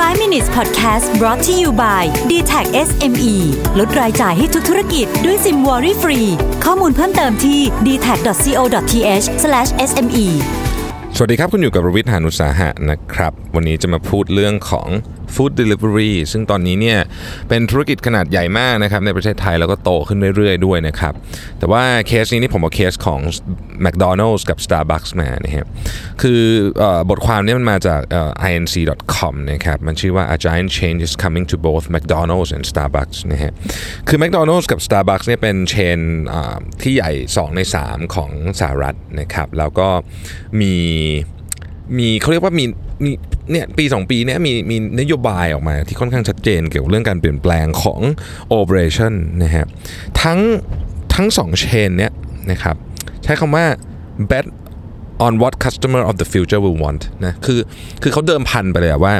5 minutes podcast brought to you by DTAC SME ลดรายจ่ายให้ทุกธุรกิจด้วยซิมวอรี่ฟรีข้อมูลเพิ่มเติมที่ dtac.co.th/sme สวัสดีครับคุณอยู่กับรวิทย์ หาญอุตสาหะนะครับวันนี้จะมาพูดเรื่องของ Food Delivery ซึ่งตอนนี้เนี่ยเป็นธุรกิจขนาดใหญ่มากนะครับในประเทศไทยแล้วก็โตขึ้นเรื่อยๆด้วยนะครับแต่ว่าเคสนี้นี่ผมเอาเคสของ McDonald's กับ Starbucks มานะครับคือบทความนี้มันมาจากinc.com นะครับมันชื่อว่า A giant change is coming to both McDonald's and Starbucks นะฮะคือ McDonald's กับ Starbucks เนี่ยเป็นเชนที่ใหญ่2ใน3ของสหรัฐนะครับแล้วก็มีเขาเรียกว่ามีเนี่ยปี2ปีเนี่ยมีนโยบายออกมาที่ค่อนข้างชัดเจนเกี่ยวกับเรื่องการเปลี่ยนแปลงของ operation นะฮะทั้ง2เชนเนี่ยนะครับใช้คำว่า bet on what customer of the future will want นะคือเขาเดิมพันไปเลยว่า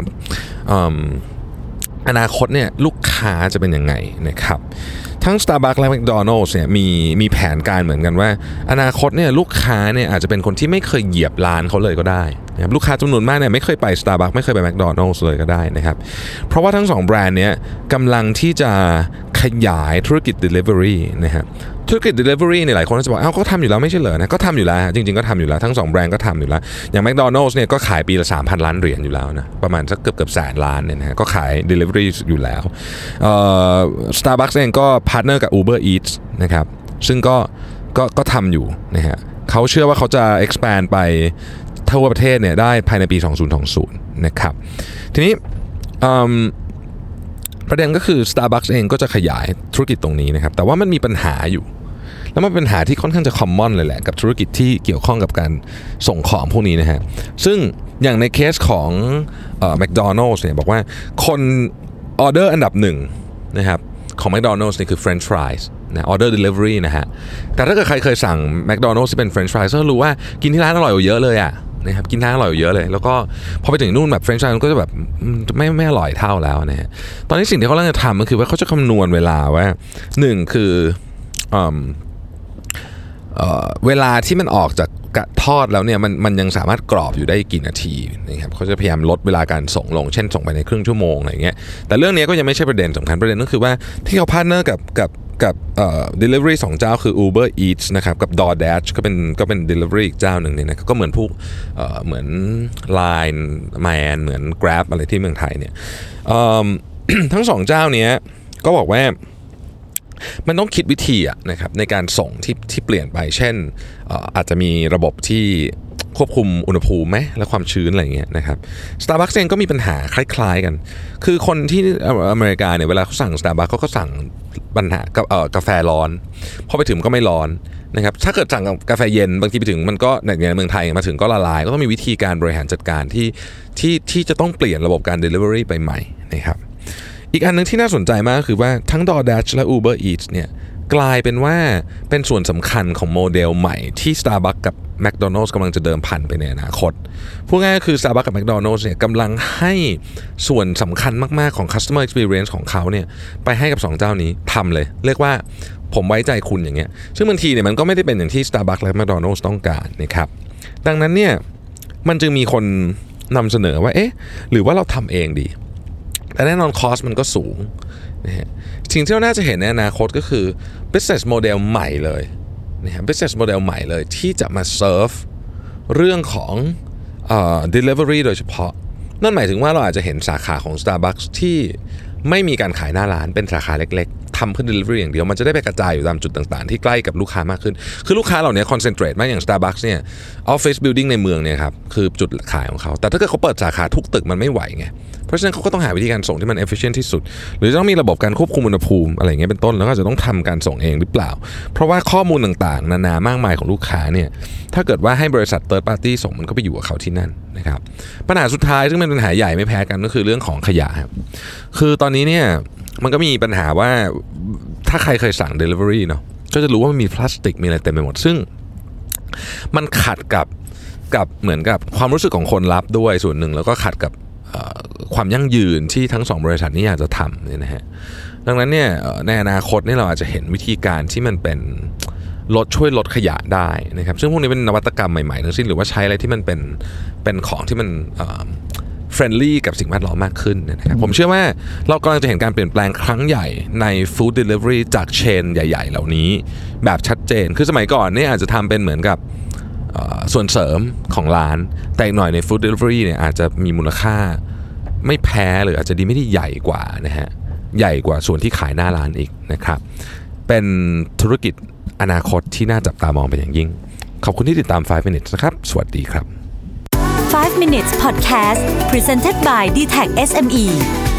อนาคตเนี่ยลูกค้าจะเป็นยังไงนะครับทั้ง Starbucks และ McDonald's เนี่ยมีแผนการเหมือนกันว่าอนาคตเนี่ยลูกค้าเนี่ยอาจจะเป็นคนที่ไม่เคยเหยียบร้านเขาเลยก็ได้นะครับลูกค้าจำนวนมากเนี่ยไม่เคยไป Starbucks ไม่เคยไป McDonald's เลยก็ได้นะครับเพราะว่าทั้ง2แบรนด์เนี้ยกำลังที่จะขยายธุรกิจ delivery นะครับธุรกิจ delivery เนี่ยหลายคนจะบอกก็ทำอยู่แล้วไม่ใช่เหรอนะก็ทำอยู่แล้วจริงๆก็ทำอยู่แล้วทั้ง2แบรนด์ก็ทำอยู่แล้วอย่าง McDonald's เนี่ยก็ขายปีละ 3,000 ล้านเหรียญอยู่แล้วนะประมาณสักเกือบแสนล้านเนี่ยนะก็ขาย delivery อยู่แล้วStarbucks เองก็พาร์ทเนอร์กับ Uber Eats นะครับซึ่งก็ทำอยู่นะฮะเขาเชื่อว่าเขาจะ expand ไปทั่วประเทศเนี่ยได้ภายในปี2020นะครับทีนี้ประเด็นก็คือ Starbucks เองก็จะขยายธุรกิจตรงนี้นะครับแต่ว่ามันมีปัญหาอยู่แล้วมันเป็นปัญหาที่ค่อนข้างจะ common เลยแหละกับธุรกิจที่เกี่ยวข้องกับการส่งของพวกนี้นะฮะซึ่งอย่างในเคสของMcDonald's เนี่ยบอกว่าคนออเดอร์อันดับ1นะครับของ McDonald's นี่คือ French fries นะ order delivery นะฮะแต่ถ้าเกิดใครเคยสั่ง McDonald's ที่เป็น French fries ก็รู้ว่ากินที่ร้านอร่อยกว่าเยอะเลยอะนะครับกินร้านอร่อยกว่าเยอะเลยแล้วก็พอไปถึงนู่นแบบ French fries ก็จะแบบไม่อร่อยเท่าแล้วนะฮะตอนนี้สิ่งที่เขากำลังจะทำก็คือว่าเขาจะคำนวณเวลาว่า1คือเวลาที่มันออกจากทอดแล้วเนี่ยมันยังสามารถกรอบอยู่ได้กี่นาทีนะครับเขาจะพยายามลดเวลาการส่งลงเช่นส่งไปในครึ่งชั่วโมงอะไรเงี้ยแต่เรื่องนี้ก็ยังไม่ใช่ประเด็นสำคัญประเด็นก็คือว่าที่เขาพาร์ทเนอร์กับdelivery 2เจ้าคือ Uber Eats นะครับกับ DoorDash ก็เป็น delivery อีกเจ้าหนึ่งเนี่ยนะก็เหมือนพวกเหมือน Line Man เหมือน Grab อะไรที่เมืองไทยเนี่ยทั้ง2เจ้านี้ก็บอกว่ามันต้องคิดวิธีนะครับในการส่งที่เปลี่ยนไปเช่นอาจจะมีระบบที่ควบคุมอุณหภูมิไหมและความชื้นอะไรเงี้ยนะครับ Starbucks เองก็มีปัญหาคล้ายๆกันคือคนที่อเมริกาเนี่ยเวลาเขาสั่ง Starbucks เขาก็สั่งปัญหากาแฟร้อนพอไปถึงก็ไม่ร้อนนะครับถ้าเกิดสั่งกาแฟเย็นบางทีไปถึงมันก็ในเมืองไทยมาถึงก็ละลายก็ต้องมีวิธีการบริหารจัดการที่จะต้องเปลี่ยนระบบการ delivery ไปใหม่นะครับอีกอันนึงที่น่าสนใจมากคือว่าทั้ง DoorDash และ Uber Eats เนี่ยกลายเป็นว่าเป็นส่วนสำคัญของโมเดลใหม่ที่ Starbucks กับ McDonald's กำลังจะเดิมพันไปในอนาคตพูดง่ายๆคือ Starbucks กับ McDonald's เนี่ยกำลังให้ส่วนสำคัญมากๆของ Customer Experience ของเขาเนี่ยไปให้กับ2เจ้านี้ทำเลยเรียกว่าผมไว้ใจคุณอย่างเงี้ยซึ่งบางทีเนี่ยมันก็ไม่ได้เป็นอย่างที่ Starbucks และ McDonald's ต้องการนะครับดังนั้นเนี่ยมันจึงมีคนนำเสนอว่าหรือว่าเราทำเองดีแต่แน่นอนคอสมันก็สูงนะฮะสิ่งที่เราน่าจะเห็นในอนาคตก็คือ business model ใหม่เลยนะฮะ business model ใหม่เลยที่จะมา serve เรื่องของdelivery โดยเฉพาะนั่นหมายถึงว่าเราอาจจะเห็นสาขาของ Starbucks ที่ไม่มีการขายหน้าร้านเป็นสาขาเล็กๆทำเพื่อ delivery อย่างเดียวมันจะได้ไปกระจายอยู่ตามจุดต่างๆที่ใกล้กับลูกค้ามากขึ้นคือลูกค้าเหล่านี้ concentrate มากอย่าง Starbucks เนี่ย office building ในเมืองเนี่ยครับคือจุดขายของเขาแต่ถ้าเกิดเขาเปิดสาขาทุกตึกมันไม่ไหวไงเพราะฉะนั้นเขาก็ต้องหาวิธีการส่งที่มัน efficient ที่สุดหรือต้องมีระบบการควบคุมอุณหภูมิอะไรอย่างเงี้ยเป็นต้นแล้วก็จะต้องทำการส่งเองหรือเปล่าเพราะว่าข้อมูลต่างๆนานามากมายของลูกค้าเนี่ยถ้าเกิดว่าให้บริษัท third party ส่งมันก็ไปอยู่กับเขาที่นั่นนะครับปัญหาสุดท้ายซึ่งเป็นปัญหาใหญ่ไม่แพ้กันก็คือเรื่องของขยะครับคือตอนนี้เนี่ยมันก็มีปัญหาว่าถ้าใครเคยสั่ง delivery เนาะก็จะรู้ว่ามันมีพลาสติกมีอะไรเต็มไปหมดซึ่งมันขัดกับเหมือนกับความรู้สึกของคนรับด้วยส่วนหนึ่งแล้วก็ขัดกับความยั่งยืนที่ทั้ง2บริษัทนี้อยากจะทำเนี่ยนะฮะดังนั้นเนี่ยในอนาคตนี่เราอาจจะเห็นวิธีการที่มันเป็นช่วยลดขยะได้นะครับซึ่งพวกนี้เป็นนวัตกรรมใหม่ๆทั้งสิ้นหรือว่าใช้อะไรที่มันเป็นของที่มันเฟร friendly กับสิ่งแวดล้อมมากขึ้นนะครับผมเชื่อว่าเรากำลังจะเห็นการเปลี่ยนแปลงครั้งใหญ่ใน food delivery จากเชนใหญ่ๆเหล่านี้แบบชัดเจนคือสมัยก่อนเนี่ยอาจจะทำเป็นเหมือนกับส่วนเสริมของร้านแต่อีกหน่อยใน food delivery เนี่ยอาจจะมีมูลค่าไม่แพ้หรืออาจจะดีไม่ได้ใหญ่กว่านะฮะใหญ่กว่าส่วนที่ขายหน้าร้านอีกนะครับเป็นธุรกิจอนาคตที่น่าจับตามองเป็นอย่างยิ่งขอบคุณที่ติดตาม 5 minutes นะครับสวัสดีครับ 5 minutes podcast presented by DTAC SME